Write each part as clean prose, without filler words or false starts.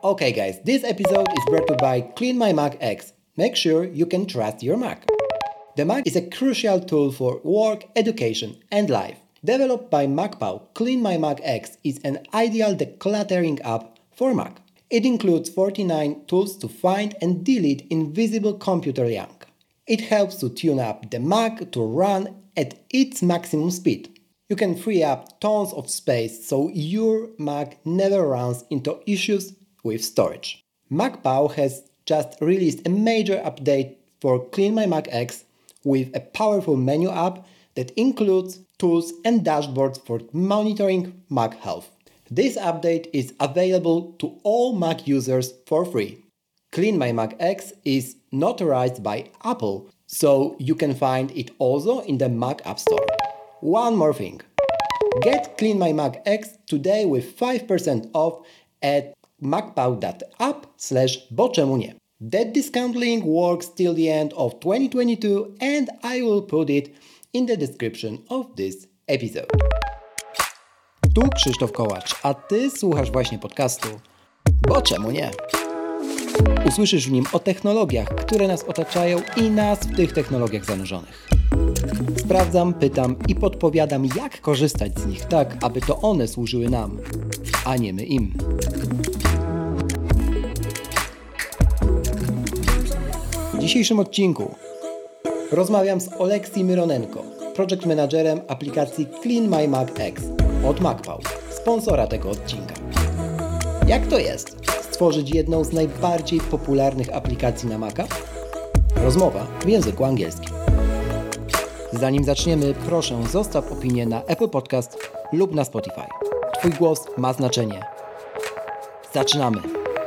Okay guys, this episode is brought to you by Clean My Mac X. Make sure you can trust your Mac. The Mac is a crucial tool for work, education and life. Developed by MacPow, Clean My Mac X is an ideal decluttering app for Mac. It includes 49 tools to find and delete invisible computer junk. It helps to tune up the Mac to run at its maximum speed. You can free up tons of space so your Mac never runs into issues with storage. MacPow has just released a major update for Clean My Mac X with a powerful menu app that includes tools and dashboards for monitoring Mac health. This update is available to all Mac users for free. Clean My Mac X is notarized by Apple, so you can find it also in the Mac App Store. One more thing. Get Clean My Mac X today with 5% off at macpow.app/bo czemu nie. That discount link works till the end of 2022 and I will put it in the description of this episode. Tu Krzysztof Kołacz, a Ty słuchasz właśnie podcastu Bo czemu nie? Usłyszysz w nim o technologiach, które nas otaczają i nas w tych technologiach zanurzonych. Sprawdzam, pytam i podpowiadam, jak korzystać z nich tak, aby to one służyły nam, a nie my im. W dzisiejszym odcinku rozmawiam z Oleksii Myronenko, project managerem aplikacji Clean My Mac X od MacPow, sponsora tego odcinka. Jak to jest stworzyć jedną z najbardziej popularnych aplikacji na Maca? Rozmowa w języku angielskim. Zanim zaczniemy, proszę zostaw opinię na Apple Podcast lub na Spotify. Twój głos ma znaczenie. Zaczynamy!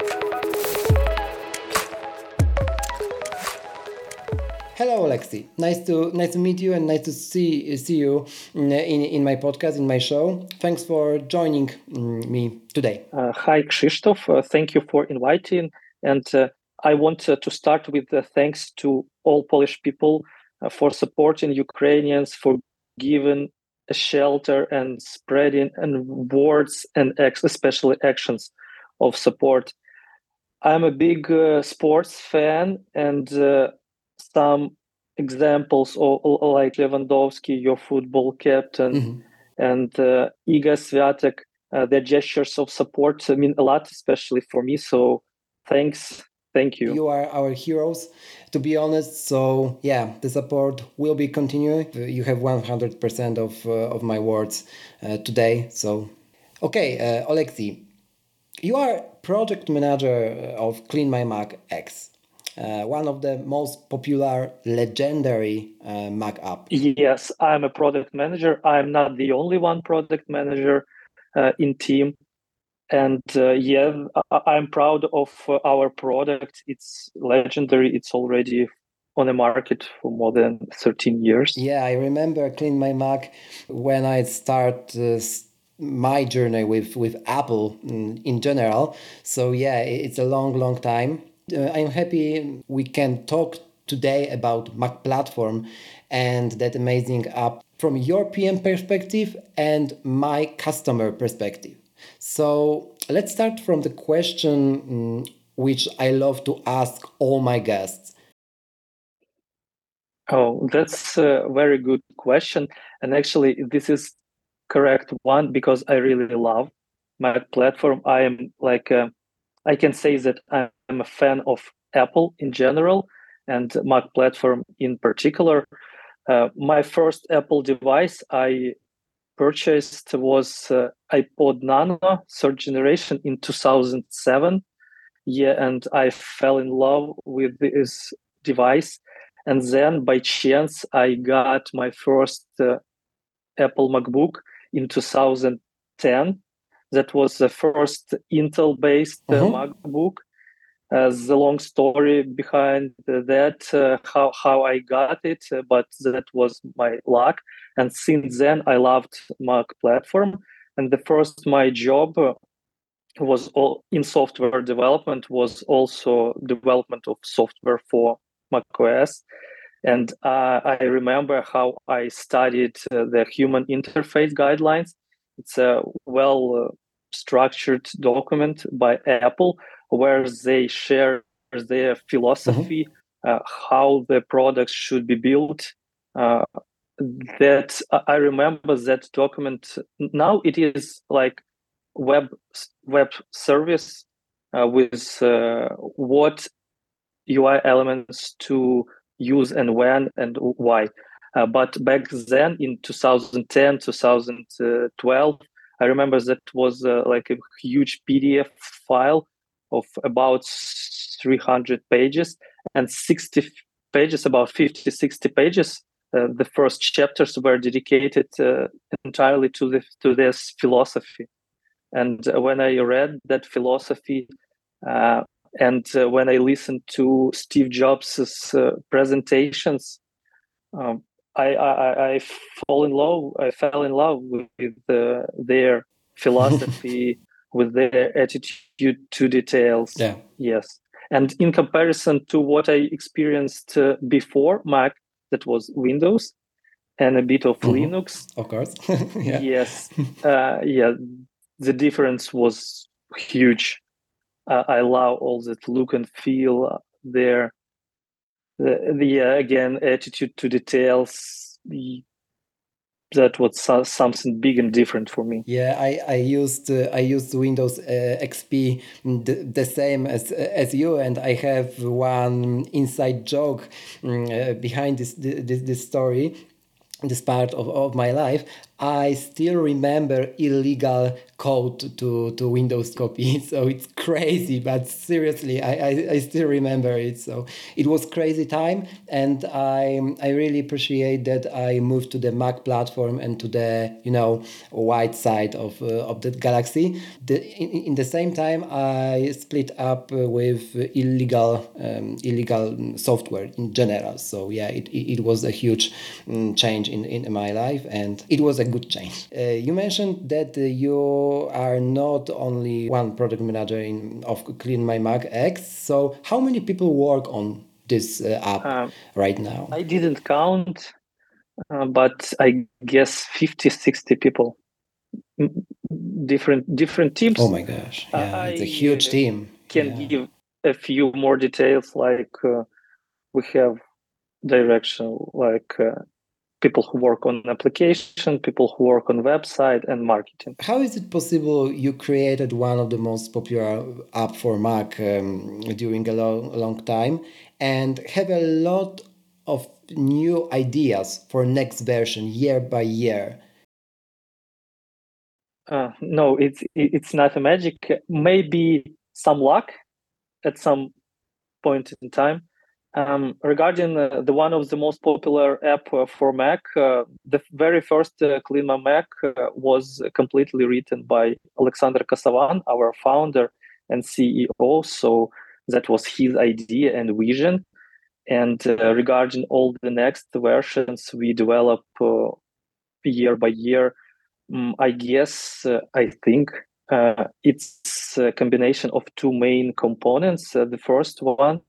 Hello, Oleksii. Nice to meet you and nice to see you in my podcast, in my show. Thanks for joining me today. Hi, Krzysztof. Thank you for inviting. And I want to start with thanks to all Polish people for supporting Ukrainians, for giving a shelter and spreading and words and especially actions of support. I'm a big sports fan, and some examples like Lewandowski, your football captain, and Iga Swiatek, their gestures of support mean a lot, especially for me. So thanks. Thank you. You are our heroes, to be honest. So yeah, the support will be continuing. You have 100% of my words today. So, okay, Oleksii, you are project manager of Clean My Mac X, one of the most popular, legendary Mac app. Yes, I'm a product manager. I'm not the only one product manager in team. And I'm proud of our product. It's legendary. It's already on the market for more than 13 years. Yeah, I remember Clean My Mac when I start my journey with Apple in general. So yeah, it's a long time. I'm happy we can talk today about Mac platform and that amazing app from European perspective and my customer perspective. So let's start from the question which I love to ask all my guests. Oh, that's a very good question. And actually, this is correct one because I really love my platform. I am I can say that I'm a fan of Apple in general and Mac platform in particular. My first Apple device I purchased was iPod Nano, third generation in 2007. Yeah, and I fell in love with this device. And then by chance, I got my first Apple MacBook in 2010. That was the first Intel-based MacBook. The long story behind that, how I got it, but that was my luck. And since then, I loved Mac platform. And the first my job was all in software development, was also development of software for Mac OS. And I remember how I studied the human interface guidelines. It's a well structured document by Apple where they share their philosophy, how the products should be built. That I remember that document. Now it is like web service with what UI elements to use and when and why. But back then in 2010, 2012, I remember that was like a huge PDF file of about 300 pages and 60 pages, about 50, 60 pages. The first chapters were dedicated entirely to this philosophy. And when I read that philosophy, and when I listened to Steve Jobs' presentations, I fell in love with their philosophy, with their attitude to details. Yeah. Yes. And in comparison to what I experienced before Mac, that was Windows and a bit of Linux. Of course. Yeah. Yes. The difference was huge. I love all that look and feel there. The again, attitude to details. That was something big and different for me. Yeah, I used Windows XP the same as you, and I have one inside joke behind this story. This part of my life. I still remember illegal code to Windows copy. So it's crazy, but seriously, I still remember it. So it was crazy time, and I really appreciate that I moved to the Mac platform and to the white side of the Galaxy. In the same time, I split up with illegal software in general. So yeah, it was a huge change in my life, and it was a good change. You mentioned that you are not only one product manager of Clean My Mac X. So how many people work on this app right now? I didn't count, but I guess 50, 60 people. Different teams. Oh my gosh! Yeah, it's a huge team. Can give a few more details, like we have direction, like people who work on application, people who work on website and marketing. How is it possible you created one of the most popular app for Mac during a long time and have a lot of new ideas for next version year by year? No, it's not a magic. Maybe some luck at some point in time. Regarding the one of the most popular app for Mac, the very first Clean My Mac was completely written by Alexander Kasavan, our founder and CEO. So that was his idea and vision. And regarding all the next versions we develop year by year, I guess, I think it's a combination of two main components. The first one,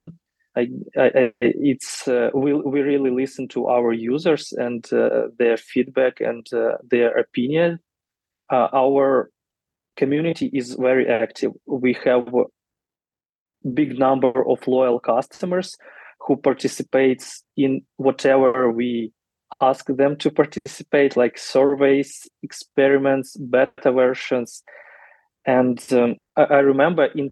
we really listen to our users and their feedback and their opinion. Our community is very active. We have a big number of loyal customers who participates in whatever we ask them to participate, like surveys, experiments, beta versions. And I remember in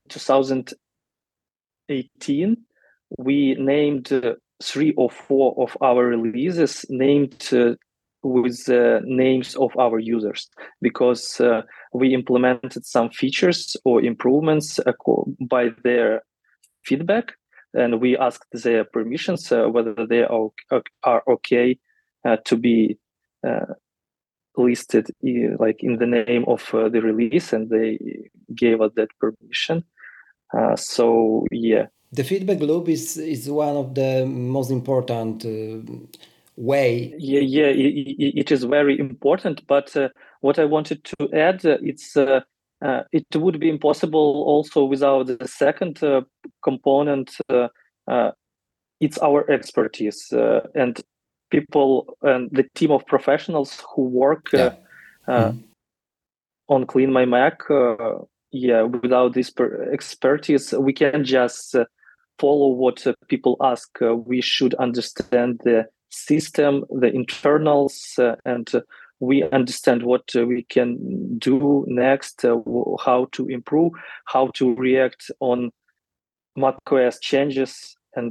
2018, we named 3 or 4 of our releases named with the names of our users, because we implemented some features or improvements by their feedback, and we asked their permissions whether they are okay to be listed like in the name of the release, and they gave us that permission. So yeah, the feedback loop is one of the most important way. Yeah, it is very important. But what I wanted to add, it would be impossible also without the second component. It's our expertise and people and the team of professionals who work on Clean My Mac, without this expertise, we can just follow what people ask. We should understand the system, the internals, and we understand what we can do next, how to improve, how to react on macOS changes, and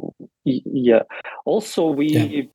Also, we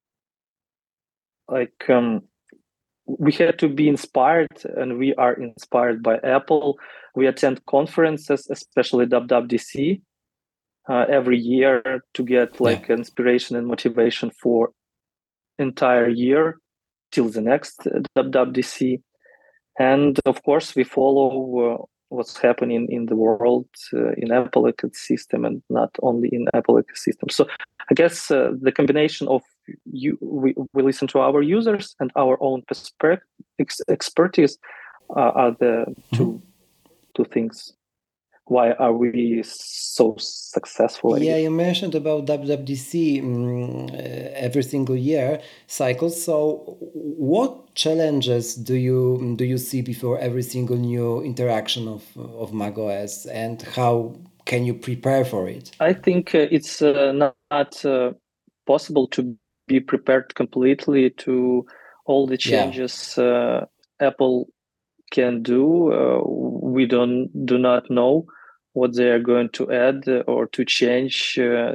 we had to be inspired, and we are inspired by Apple. We attend conferences, especially WWDC, every year to get inspiration and motivation for entire year till the next WWDC. And of course, we follow what's happening in the world in Apple ecosystem, and not only in Apple ecosystem. So I guess the combination of we listen to our users and our own expertise are the two things. Why are we so successful? You mentioned about WWDC every single year cycle. So, what challenges do you see before every single new interaction of macOS, and how can you prepare for it? I think it's not possible to be prepared completely to all the changes Apple can do. We do not know what they are going to add or to change.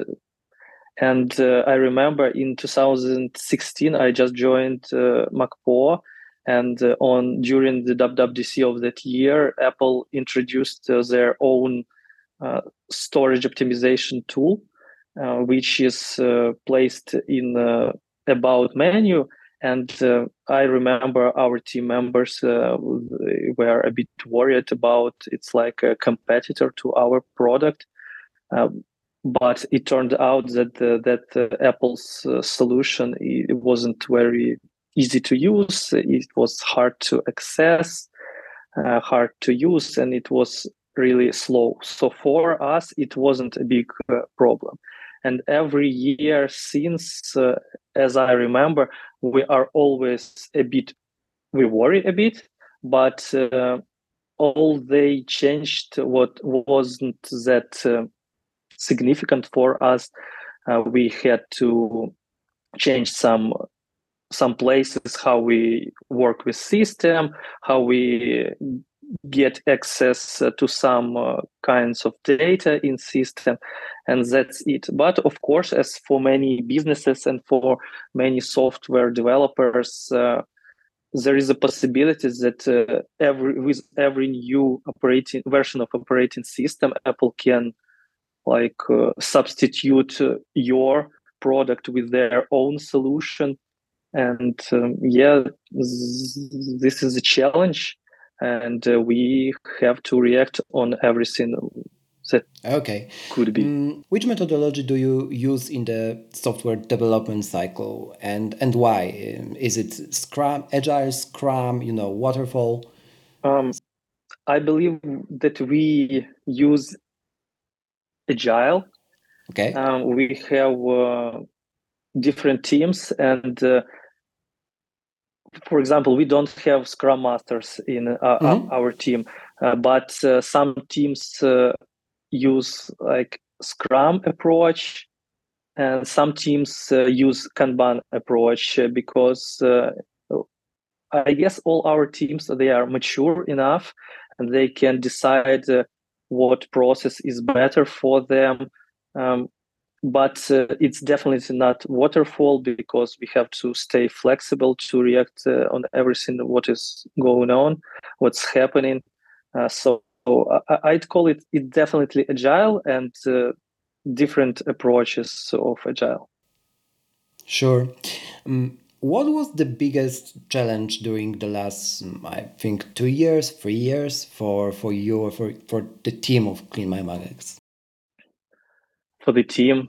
And I remember in 2016, I just joined MacPo, and during the WWDC of that year, Apple introduced their own storage optimization tool, which is placed in About menu. And I remember our team members were a bit worried about it's like a competitor to our product. But it turned out that Apple's solution, it wasn't very easy to use. It was hard to access, hard to use, and it was really slow. So for us, it wasn't a big problem. And every year since, as I remember, we are always we worry a bit, but all they changed what wasn't that significant for us. We had to change some places, how we work with system, how we get access to some kinds of data in system, and that's it. But of course, as for many businesses and for many software developers, there is a possibility that with every new version of operating system, Apple can substitute your product with their own solution. And this is a challenge, and we have to react on everything that could be. Which methodology do you use in the software development cycle, and why? Is it Scrum, Agile, Scrum, Waterfall? I believe that we use Agile. Okay. We have different teams, and for example, we don't have Scrum Masters in our team, but some teams use Scrum approach, and some teams use Kanban approach, because I guess all our teams, they are mature enough, and they can decide what process is better for them. But it's definitely not waterfall, because we have to stay flexible to react on everything what is going on, what's happening. So I'd call it definitely agile, and different approaches of agile. Sure. What was the biggest challenge during the last, I think, 2 years, 3 years for you, for the team of Clean My Mac X? For the team,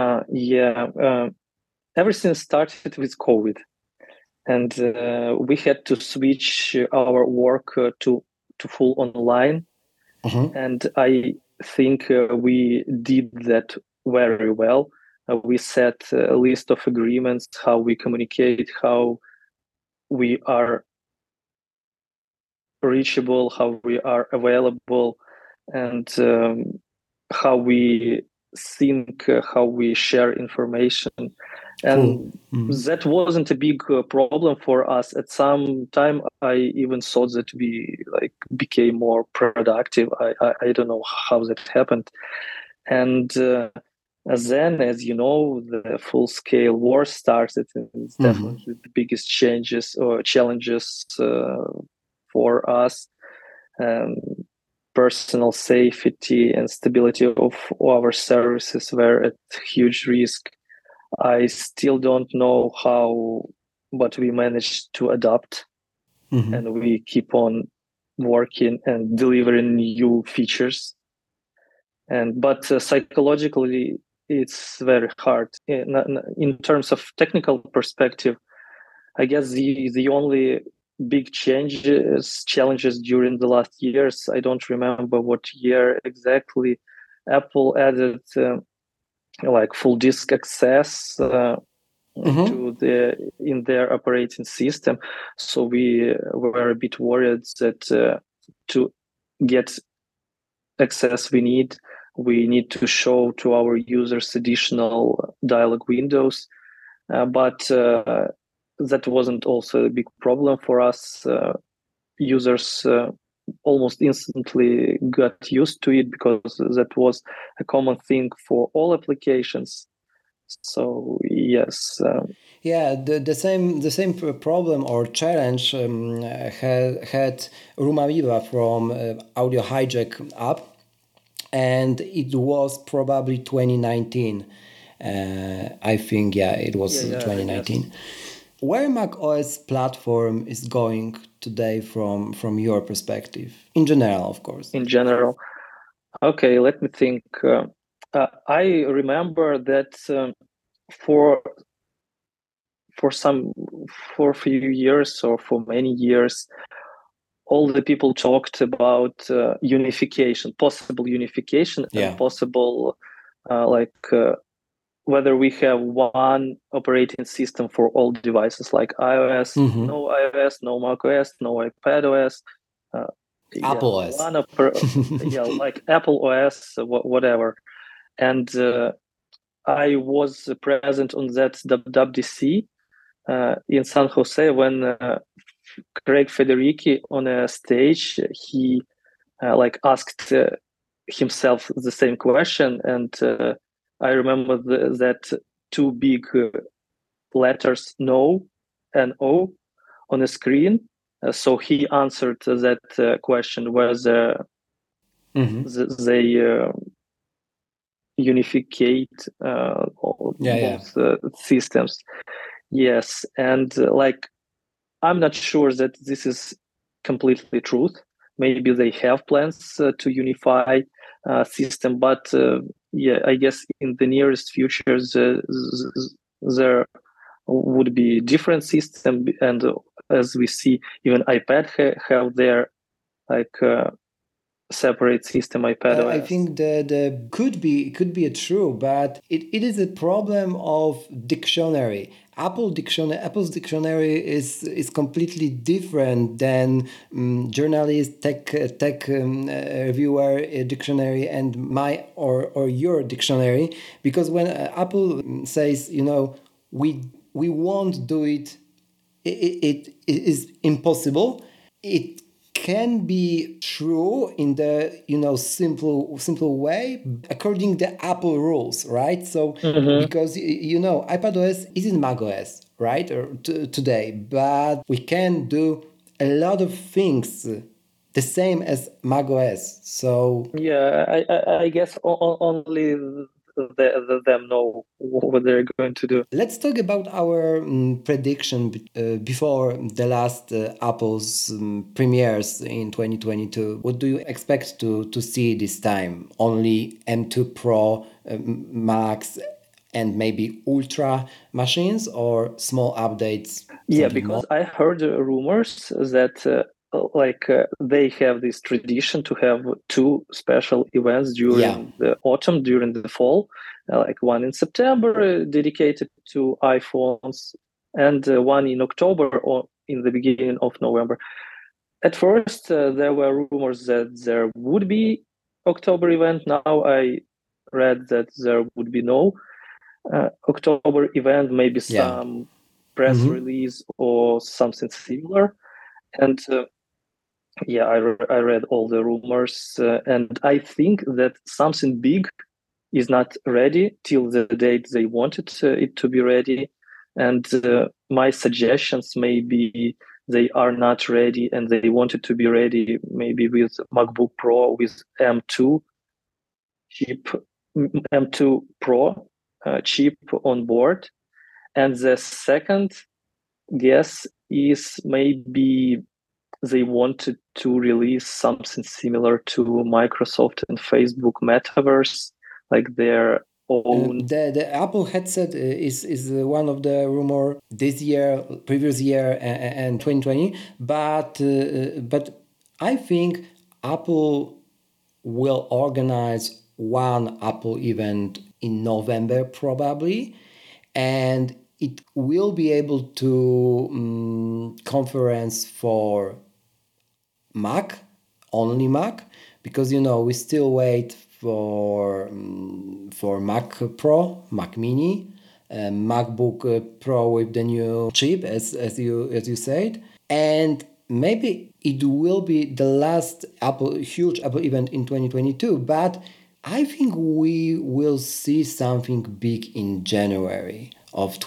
everything started with COVID, and we had to switch our work to full online. And I think we did that very well. We set a list of agreements, how we communicate, how we are reachable, how we are available, and how we think, how we share information. And that wasn't a big problem for us. At some time, I even thought that we became more productive. I don't know how that happened. And then, as you know, the full-scale war started, and it's definitely the biggest changes or challenges for us. Personal safety and stability of our services were at huge risk. I still don't know how, but we managed to adapt, and we keep on working and delivering new features. But psychologically, it's very hard. In terms of technical perspective, I guess the only big challenges during the last years, I don't remember what year exactly, Apple added full disk access to in their operating system. So we were a bit worried that to get access we need to show to our users additional dialog windows. But that wasn't also a big problem for us. Users almost instantly got used to it because that was a common thing for all applications. So yes. The same problem or challenge had Rumaviva from Audio Hijack app, and it was probably 2019. I think it was 2019. Yes. Where Mac OS platform is going today from your perspective, in general, of course. In general, okay. Let me think. I remember that for a few years or for many years, all the people talked about unification, possible unification, and possible whether we have one operating system for all devices, like iOS, no iOS, no macOS, no iPadOS, Apple OS, like Apple OS, whatever. And I was present on that WWDC in San Jose when Craig Federighi on a stage, he asked himself the same question, and I remember that two big letters, no and O, on the screen. So he answered that question whether they unificate both systems. Yes, and I'm not sure that this is completely truth. Maybe they have plans to unify system, but I guess in the nearest future there would be different system, and as we see, even iPad have their separate system, iPadOS. I think that could be true, but it is a problem of dictionary. Apple's dictionary is completely different than journalist, tech reviewer dictionary and my or your dictionary, because when Apple says, we won't do it, it is impossible. It can be true in the simple way according to the Apple rules, right? So because iPadOS isn't macOS, right, or today, but we can do a lot of things the same as macOS. So I guess only them know what they're going to do. Let's talk about our prediction before the last Apple's premieres in 2022. What do you expect to see this time? Only M2 Pro, Max, and maybe Ultra machines, or small updates? Yeah, because I heard rumors that they have this tradition to have two special events during the autumn, during the fall, one in September dedicated to iPhones, and one in October or in the beginning of November. At first, there were rumors that there would be October event. Now I read that there would be no October event, maybe some press release or something similar. And I read all the rumors, and I think that something big is not ready till the date they wanted it to be ready. And my suggestions maybe they are not ready and they wanted to be ready maybe with MacBook Pro with M2 chip, M2 Pro chip on board. And the second guess is maybe they wanted to release something similar to Microsoft and Facebook Metaverse, like their own. The Apple headset is one of the rumor this year, previous year, and 2020. But I think Apple will organize one Apple event in November probably, and it will be able to conference for Mac, only Mac, because we still wait for Mac Pro, Mac Mini, MacBook Pro with the new chip, as you said, and maybe it will be the last huge Apple event in 2022. But I think we will see something big in January of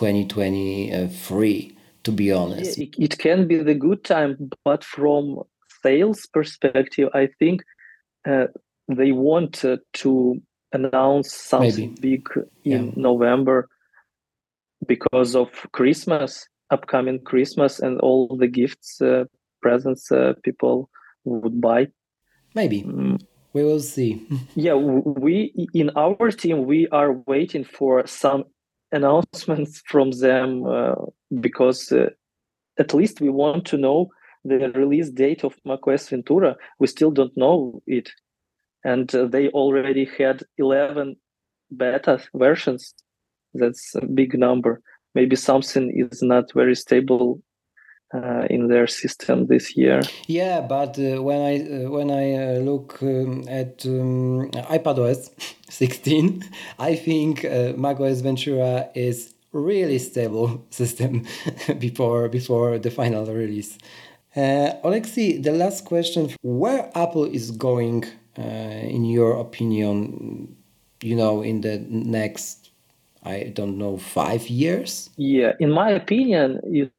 2023. To be honest, it can be the good time, but from sales perspective, I think they want to announce something big in November because of Christmas, upcoming Christmas, and all the gifts, presents people would buy. Maybe. We will see. We in our team, we are waiting for some announcements from them because at least we want to know the release date of macOS Ventura. We still don't know it. And they already had 11 beta versions. That's a big number. Maybe something is not very stable in their system this year. Yeah, but when I look at iPadOS 16, I think macOS Ventura is really stable system before the final release. Alexei, the last question: where Apple is going, in your opinion? In the next, I don't know, 5 years? Yeah, in my opinion,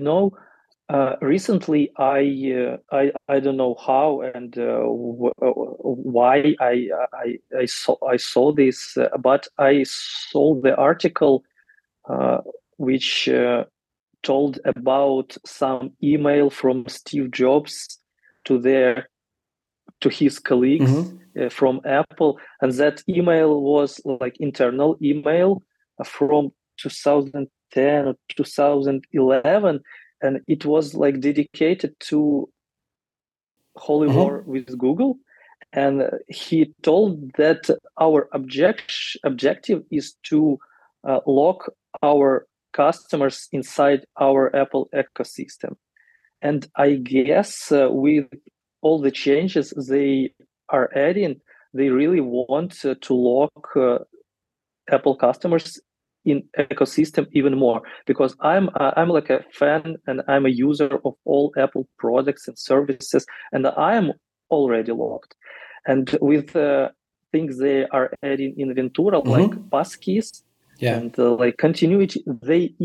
recently I don't know how and why I saw this, but I saw the article which told about some email from Steve Jobs to his colleagues from Apple, and that email was like internal email from 2010 or 2011, and it was like dedicated to holy war with Google. And he told that our objective is to lock our customers inside our Apple ecosystem. And I guess with all the changes they are adding, they really want to lock Apple customers in ecosystem even more, because I'm like a fan and I'm a user of all Apple products and services, and I am already locked. And with things they are adding in Ventura, like passkeys and like continuity, they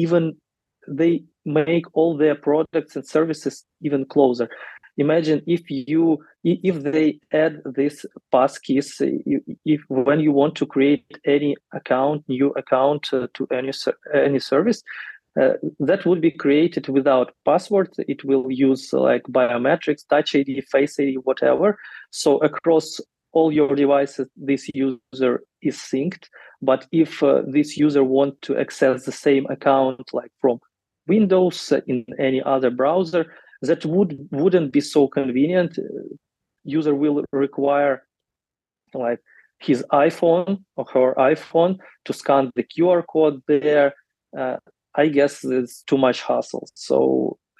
make all their products and services even closer. Imagine if they add this passkeys, if when you want to create any new account to any service, that would be created without password. It will use like biometrics, Touch ID, Face ID, whatever. So across all your devices, this user is synced. But if this user wants to access the same account, like from Windows in any other browser, that wouldn't be so convenient. User will require like his iPhone or her iPhone to scan the QR code there. I guess it's too much hassle. So yeah,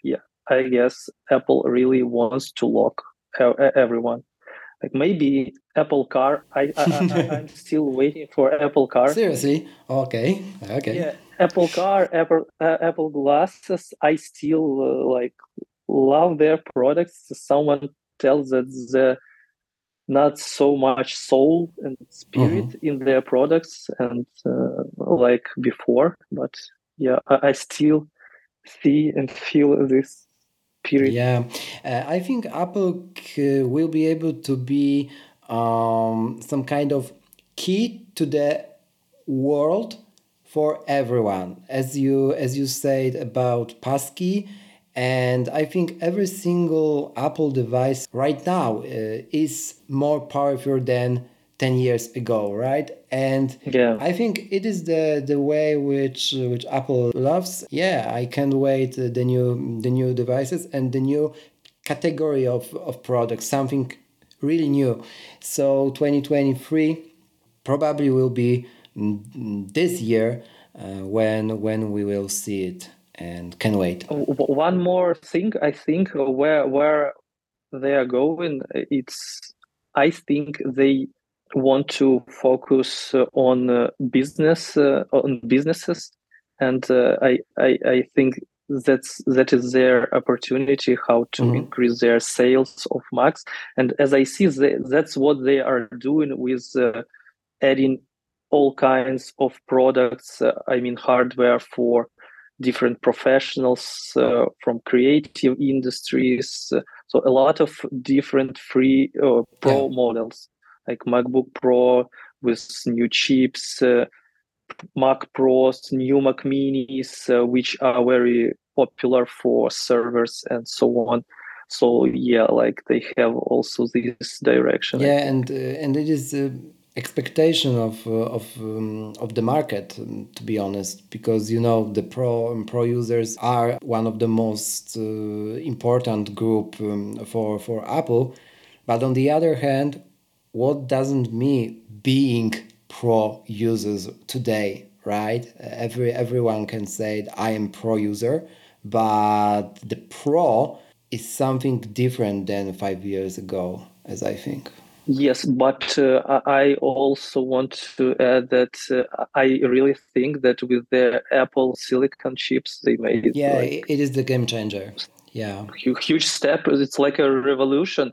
I guess Apple really wants to lock everyone. Like maybe Apple Car. I'm still waiting for Apple Car. Seriously? Okay. Yeah, Apple Car, Apple glasses. I still like love their products. Someone tells that the not so much soul and spirit in their products and like before, but yeah, I still see and feel this spirit. Yeah, I think Apple will be able to be some kind of key to the world for everyone, as you said about passkey. And I think every single Apple device right now is more powerful than 10 years ago, right? And Yeah. I think it is the way which Apple loves. Yeah, I can't wait the new devices and the new category of products, something really new. So 2023 probably will be this year when we will see it, and can wait. One more thing, I think where they are going, I think they want to focus on businesses, and I think that is their opportunity how to increase their sales of Macs. And as I see, that's what they are doing with adding all kinds of products. I mean, hardware for different professionals from creative industries. So a lot of different free Pro models, like MacBook Pro with new chips, Mac Pros, new Mac Minis, which are very popular for servers and so on. So yeah, like they have also this direction. Yeah, and it is expectation of the market, to be honest, because you know the pro users are one of the most important group for Apple. But on the other hand, what doesn't mean being pro users today, right? Everyone can say I am pro user, but the pro is something different than 5 years ago, as I think. Yes, but I also want to add that I really think that with the Apple Silicon chips, they made it. Yeah, it is the game changer. Yeah, huge step. It's like a revolution.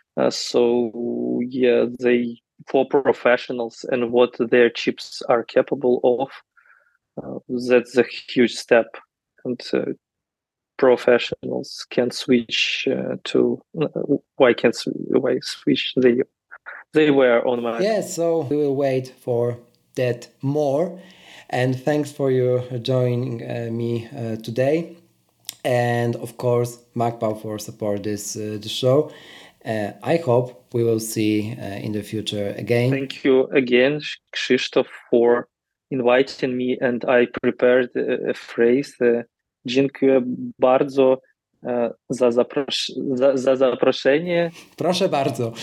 So yeah, they for professionals and what their chips are capable of. That's a huge step, and professionals can switch to why switch they were on Mac. Yeah, so we will wait for that more. And thanks for your joining me today. And of course, MacPow for support this show. I hope we will see in the future again. Thank you again, Krzysztof, for inviting me. And I prepared a phrase. Dziękuję bardzo za zaproszenie. Proszę bardzo.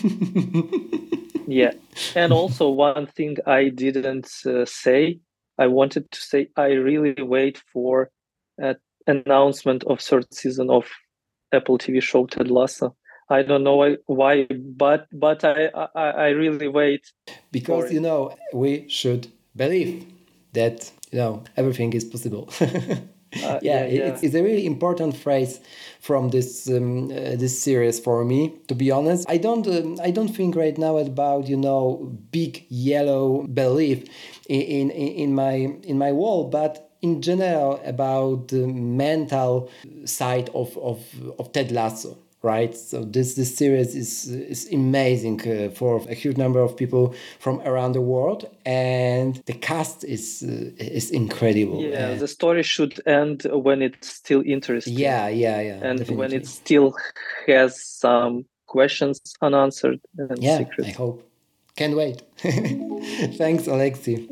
Yeah. And also one thing I didn't say, I wanted to say I really wait for announcement of third season of Apple TV show Ted Lasso. I don't know why, but I really wait. Because, you know, we should believe that, you know, everything is possible. It's a really important phrase from this this series for me. To be honest, I don't think right now about, you know, big yellow belief in my wall, but in general about the mental side of Ted Lasso. Right, so this series is amazing for a huge number of people from around the world, and the cast is incredible. Yeah, the story should end when it's still interesting. Yeah, and definitely. When it still has some questions unanswered and secrets. I hope. Can't wait. Thanks, Alexi.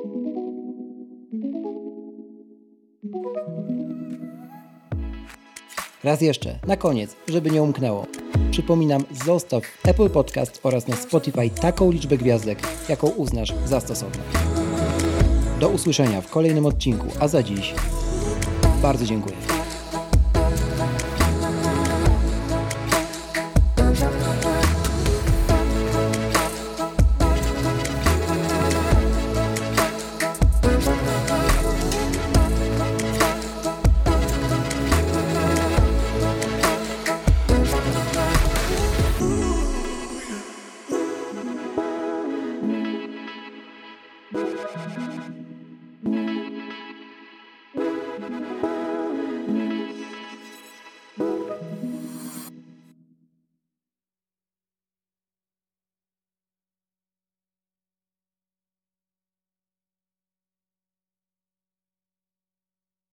Raz jeszcze, na koniec, żeby nie umknęło. Przypominam, zostaw w Apple Podcast oraz na Spotify taką liczbę gwiazdek, jaką uznasz za stosowną. Do usłyszenia w kolejnym odcinku, a za dziś bardzo dziękuję.